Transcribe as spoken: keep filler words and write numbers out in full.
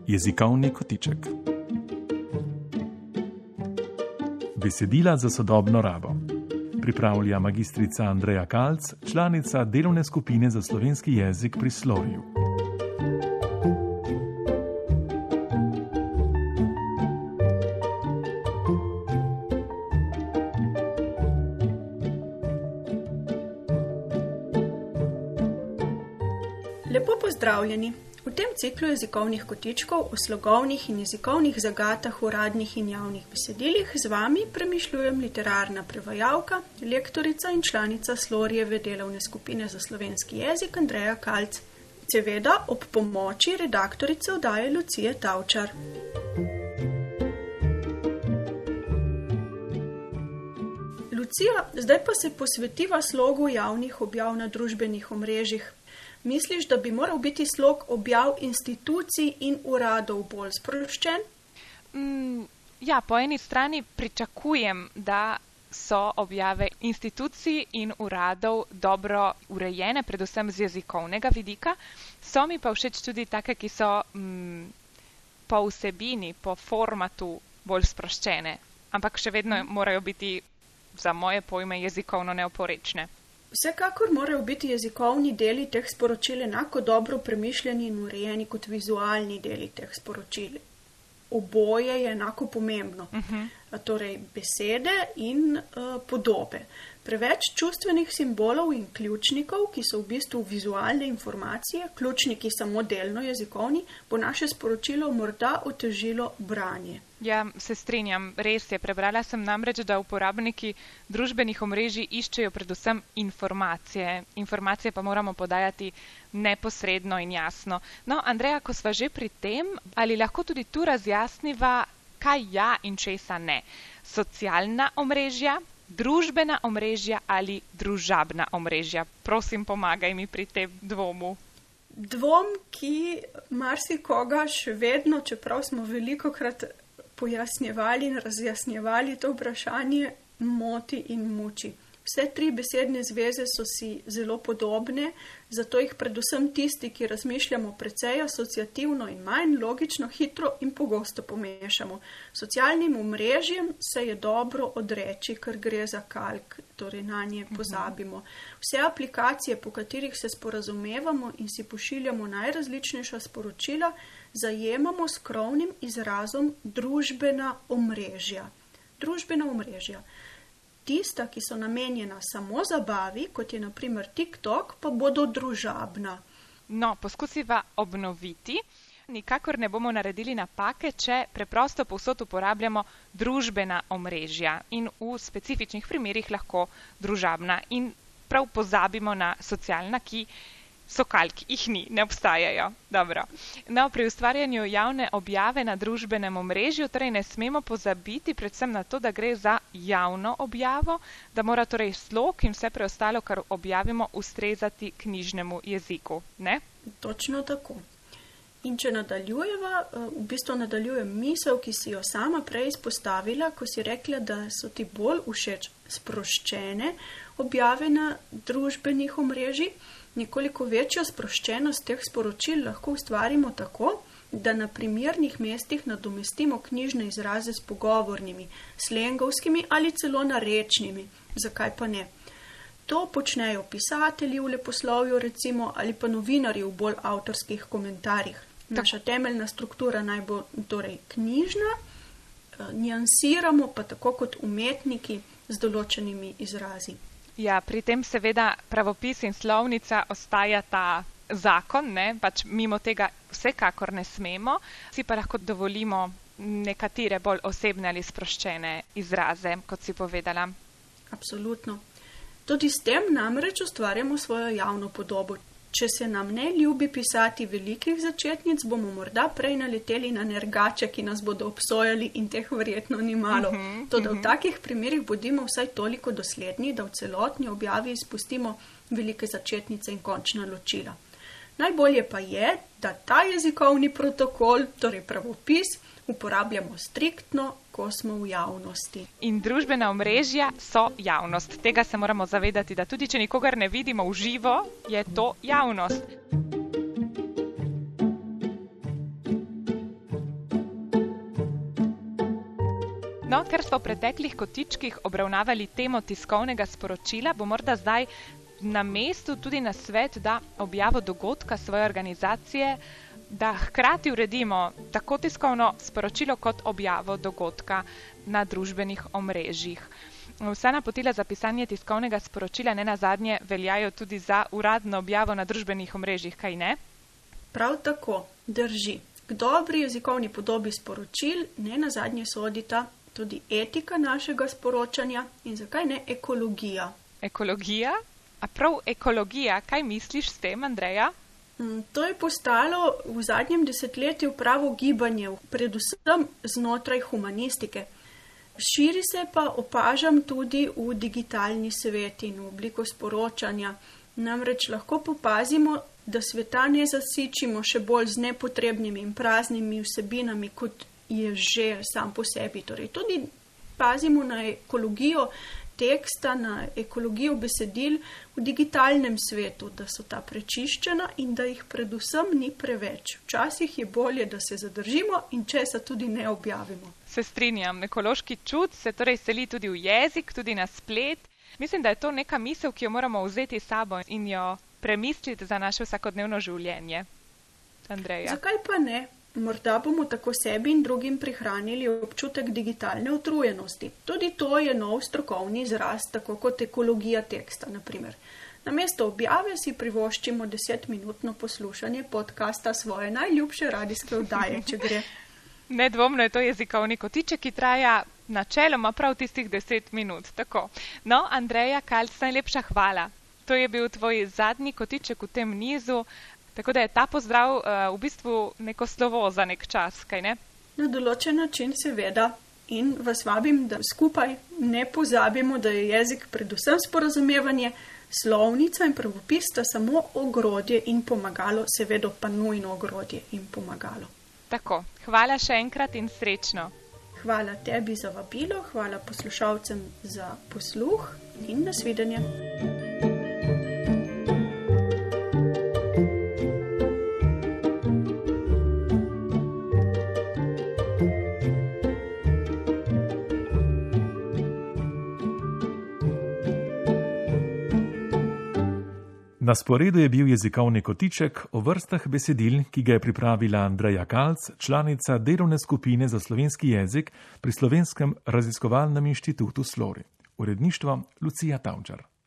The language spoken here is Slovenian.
Jezikovni kotiček. Besedila za sodobno rabo. Pripravlja magistrica Andreja Kalc, članica delovne skupine za slovenski jezik pri Slovju. Lepo pozdravljeni! V tem ciklu jezikovnih kotičkov o slogovnih in jezikovnih zagatah v uradnih in javnih besedilih z vami premišljujem literarna prevajalka, lektorica in članica Slorjeve delovne skupine za slovenski jezik Andreja Kalc. Seveda ob pomoči redaktorice oddaje Lucije Tavčar. Lucija, zdaj pa se posvetiva slogu javnih objav na družbenih omrežjih. Misliš, da bi moral biti slog objav institucij in uradov bolj sproščen? Mm, ja, po eni strani pričakujem, da so objave institucij in uradov dobro urejene, predvsem z jezikovnega vidika. So mi pa všeč tudi take, ki so mm, po vsebini, po formatu bolj sproščene, ampak še vedno morajo biti za moje pojme jezikovno neoporečne. Vsekakor morajo biti jezikovni deli teh sporočil enako dobro premišljeni in urejeni kot vizualni deli teh sporočil. Oboje je enako pomembno. Uh-huh. Torej besede in uh, podobe. Preveč čustvenih simbolov in ključnikov, ki so v bistvu vizualne informacije, ključniki samo delno jezikovni, bo naše sporočilo morda otežilo branje. Ja, se strinjam, res je. Prebrala sem namreč, da uporabniki družbenih omrežij iščejo predvsem informacije. Informacije pa moramo podajati neposredno in jasno. No, Andreja, ko sva že pri tem, ali lahko tudi tu razjasniva, kaj ja in česa ne? Socialna omrežja, družbena omrežja ali družabna omrežja? Prosim, pomagaj mi pri tem dvomu. Dvom, ki marsikoga še vedno, čeprav smo velikokrat pojasnjevali in razjasnjevali to vprašanje, moti in muči. Vse tri besedne zveze so si zelo podobne, zato jih predvsem tisti, ki razmišljamo precej asociativno in manj logično, hitro in pogosto pomešamo. Socialnim omrežjem se je dobro odreči, ker gre za kalk, torej na nje pozabimo. Vse aplikacije, po katerih se sporazumevamo in si pošiljamo najrazličnejša sporočila, zajemamo s krovnim izrazom družbena omrežja. Družbena omrežja. Tista, ki so namenjena samo zabavi, kot je na primer TikTok, pa bodo družabna. No, poskusiva obnoviti. Nikakor ne bomo naredili napake, če preprosto povsod uporabljamo družbena omrežja in v specifičnih primerih lahko družabna. In prav pozabimo na socialna, ki so kalk, jih ni, ne obstajajo. Dobro. No, pri ustvarjanju javne objave na družbenem omrežju, torej ne smemo pozabiti predvsem na to, da gre za javno objavo, da mora torej slog in vse preostalo, kar objavimo, ustrezati knjižnemu jeziku, ne? Točno tako. In če nadaljujeva, v bistvu nadaljujem misel, ki si jo sama prej izpostavila, ko si rekla, da so ti bolj všeč sproščene objave na družbenih omrežjih. Nekoliko večjo sproščenost teh sporočil lahko ustvarimo tako, da na primernih mestih nadomestimo knjižne izraze s pogovornimi, slengovskimi ali celo narečnimi. Zakaj pa ne? To počnejo pisatelji v leposlovju recimo ali pa novinarji v bolj avtorskih komentarjih. Naša temeljna struktura naj bo torej knjižna, niansiramo pa tako kot umetniki z določenimi izrazi. Ja, pri tem seveda pravopis in slovnica ostaja ta zakon, ne, pač mimo tega vsekakor ne smemo, si pa lahko dovolimo nekatere bolj osebne ali sproščene izraze, kot si povedala. Absolutno. Tudi s tem namreč ustvarjamo svojo javno podobo. Če se nam ne ljubi pisati velikih začetnic, bomo morda prej naleteli na nergače, ki nas bodo obsojali in teh verjetno ni malo. Uh-huh, Toda uh-huh. v takih primerih bodimo vsaj toliko dosledni, da v celotni objavi izpustimo velike začetnice in končna ločila. Najbolje pa je, da ta jezikovni protokol, torej pravopis, uporabljamo striktno, ko smo v javnosti. In družbena omrežja so javnost. Tega se moramo zavedati, da tudi če nikogar ne vidimo v živo, je to javnost. No, ker smo v preteklih kotičkih obravnavali temo tiskovnega sporočila, bo morda zdaj na mestu tudi na svet, da objavo dogodka svoje organizacije, da hkrati uredimo tako tiskovno sporočilo kot objavo dogodka na družbenih omrežjih. Vsa napotila za pisanje tiskovnega sporočila ne nazadnje veljajo tudi za uradno objavo na družbenih omrežjih, kaj ne? Prav tako, drži. K dobri jezikovni podobi sporočil ne nazadnje sodita tudi etika našega sporočanja in zakaj ne ekologija. Ekologija? A prav ekologija, kaj misliš s tem, Andreja? To je postalo v zadnjem desetletju pravo gibanje, predvsem znotraj humanistike. Širi se pa opažam tudi v digitalni svet in v obliko sporočanja. Namreč lahko popazimo, da sveta ne zasičimo še bolj z nepotrebnimi in praznimi vsebinami, kot je že sam po sebi. Torej, tudi pazimo na ekologijo teksta, na ekologijo besedil v digitalnem svetu, da so ta prečiščena in da jih predvsem ni preveč. Včasih je bolje, da se zadržimo in česa tudi ne objavimo. Se strinjam, ekološki čut se torej seli tudi v jezik, tudi na splet. Mislim, da je to neka misel, ki jo moramo vzeti s sabo in jo premisliti za naše vsakodnevno življenje. Andreja. Zakaj pa ne? Morda bomo tako sebi in drugim prihranili občutek digitalne utrujenosti. Tudi to je nov strokovni izraz, tako kot ekologija teksta, na primer. Namesto objave si privoščimo desetminutno poslušanje podcasta svoje najljubše radijske oddaje, če gre. Nedvomno je to jezikovni kotiček, ki traja načeloma prav tistih deset minut. Tako. No, Andreja Kalc, najlepša hvala. To je bil tvoj zadnji kotiček v tem nizu. Tako da je ta pozdrav uh, v bistvu neko slovo za nek čas, kaj ne? Na določen način seveda in vas vabim, da skupaj ne pozabimo, da je jezik predvsem sporazumevanje, slovnica in pravopis sta samo ogrodje in pomagalo, seveda pa nujno ogrodje in pomagalo. Tako, hvala še enkrat in srečno. Hvala tebi za vabilo, hvala poslušalcem za posluh in nasvidenje. Na sporedu je bil jezikovni kotiček o vrstah besedil, ki ga je pripravila Andreja Kalc, članica delovne skupine za slovenski jezik pri Slovenskem raziskovalnem inštitutu Slori. Uredništvo Lucija Tavčar.